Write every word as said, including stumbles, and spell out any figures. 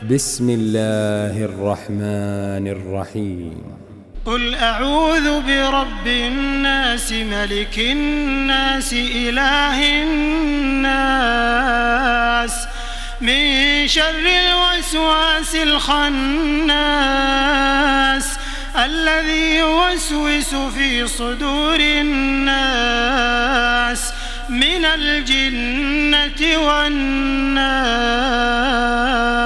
بسم الله الرحمن الرحيم. قل أعوذ برب الناس ملك الناس إله الناس من شر الوسواس الخناس الذي يوسوس في صدور الناس من الجنة والناس.